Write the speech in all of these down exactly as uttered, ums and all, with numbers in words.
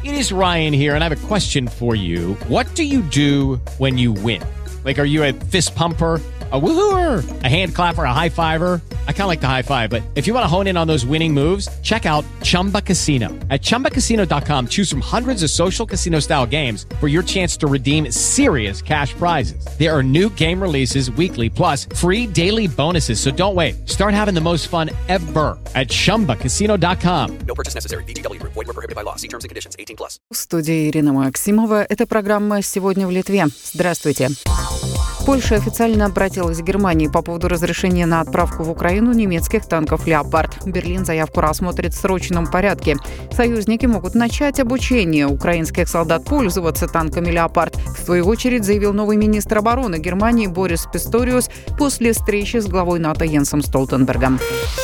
It is Ryan here, and I have a question for you. What do you do when you win? Like, are you a fist pumper, a woo-hooer, a hand clapper, a high-fiver? I kind of like the high-five, but if you want to hone in on those winning moves, check out Chumba Casino. At chumba casino dot com, choose from hundreds of social casino-style games for your chance to redeem serious cash prizes. There are new game releases weekly, plus free daily bonuses, so don't wait. Start having the most fun ever at chumba casino dot com. No purchase necessary. V G W Group. Void where prohibited by law. See terms and conditions. eighteen plus. В студии Ирина Максимова. Это программа «Сегодня в Литве». Здравствуйте. Польша официально обратилась к Германии по поводу разрешения на отправку в Украину немецких танков «Леопард». Берлин заявку рассмотрит в срочном порядке. Союзники могут начать обучение украинских солдат пользоваться танками «Леопард». В свою очередь заявил новый министр обороны Германии Борис Писториус после встречи с главой НАТО Йенсом Столтенбергом.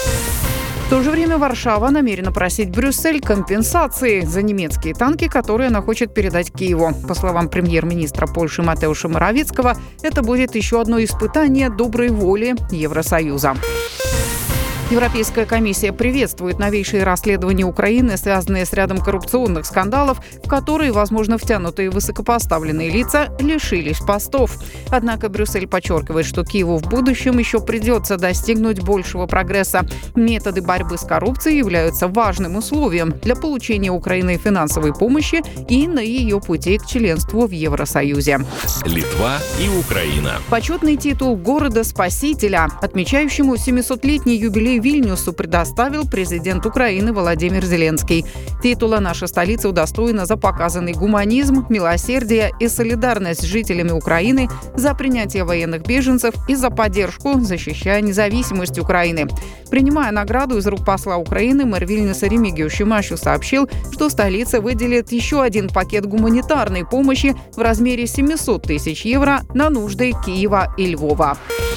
В то же время Варшава намерена просить Брюссель компенсации за немецкие танки, которые она хочет передать Киеву. По словам премьер-министра Польши Матеуша Моравицкого, это будет еще одно испытание доброй воли Евросоюза. Европейская комиссия приветствует новейшие расследования Украины, связанные с рядом коррупционных скандалов, в которые, возможно, втянутые высокопоставленные лица лишились постов. Однако Брюссель подчеркивает, что Киеву в будущем еще придется достигнуть большего прогресса. Методы борьбы с коррупцией являются важным условием для получения Украиной финансовой помощи и на ее пути к членству в Евросоюзе. Литва и Украина. Почетный титул города-спасителя, отмечающему семисотлетний юбилей Вильнюсу, предоставил президент Украины Владимир Зеленский. Титула наша столица удостоена за показанный гуманизм, милосердие и солидарность с жителями Украины, за принятие военных беженцев и за поддержку, защищая независимость Украины. Принимая награду из рук посла Украины, мэр Вильнюса Ремигиус Шимашу сообщил, что столица выделит еще один пакет гуманитарной помощи в размере семьсот тысяч евро на нужды Киева и Львова.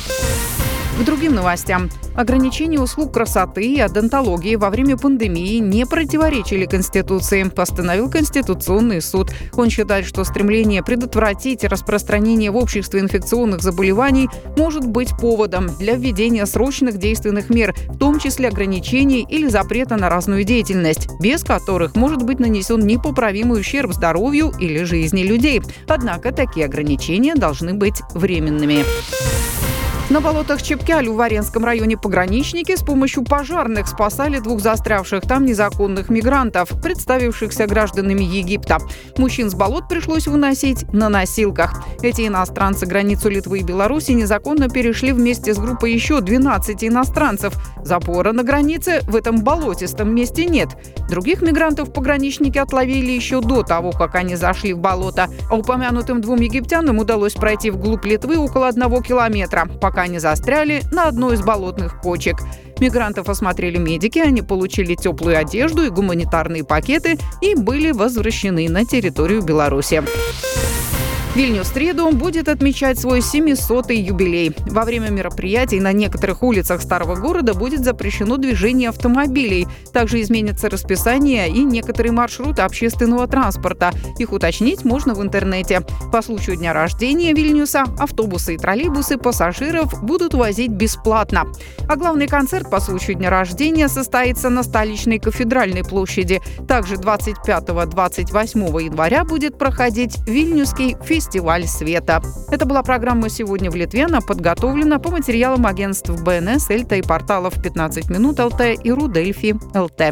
К другим новостям. Ограничения услуг красоты и одонтологии во время пандемии не противоречили Конституции, постановил Конституционный суд. Он считает, что стремление предотвратить распространение в обществе инфекционных заболеваний может быть поводом для введения срочных действенных мер, в том числе ограничений или запрета на разную деятельность, без которых может быть нанесен непоправимый ущерб здоровью или жизни людей. Однако такие ограничения должны быть временными. На болотах Чепкяль в Варенском районе пограничники с помощью пожарных спасали двух застрявших там незаконных мигрантов, представившихся гражданами Египта. Мужчин с болот пришлось выносить на носилках. Эти иностранцы границу Литвы и Беларуси незаконно перешли вместе с группой еще двенадцати иностранцев. Запора на границе в этом болотистом месте нет. Других мигрантов пограничники отловили еще до того, как они зашли в болото. А упомянутым двум египтянам удалось пройти вглубь Литвы около одного километра, пока они застряли на одной из болотных кочек. Мигрантов осмотрели медики, они получили теплую одежду и гуманитарные пакеты и были возвращены на территорию Беларуси. Вильнюс в среду будет отмечать свой семисотый юбилей. Во время мероприятий на некоторых улицах старого города будет запрещено движение автомобилей. Также изменится расписание и некоторые маршруты общественного транспорта. Их уточнить можно в интернете. По случаю дня рождения Вильнюса автобусы и троллейбусы пассажиров будут возить бесплатно. А главный концерт по случаю дня рождения состоится на столичной кафедральной площади. Также двадцать пятого - двадцать восьмого января будет проходить Вильнюсский фестиваль. Фестиваль света. Это была программа «Сегодня в Литве». Она подготовлена по материалам агентств БНС, Эльта и порталов пятнадцать минут ЛТ и Рудельфи ЛТ.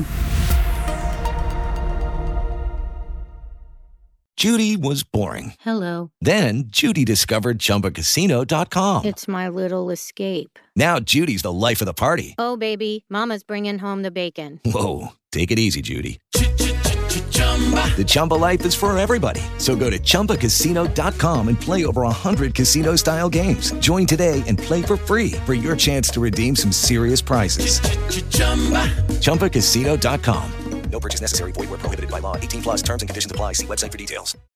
Judy was boring. Hello. Then Judy discovered Chumba Casino dot com. It's my little escape. Now Judy's the life of the party. Oh, baby, mama's bringing home the bacon. Whoa, take it easy, Judy. The Chumba life is for everybody. So go to chumba casino dot com and play over one hundred casino-style games. Join today and play for free for your chance to redeem some serious prizes. chumba casino dot com. No purchase necessary. Void where prohibited by law. eighteen plus terms and conditions apply. See website for details.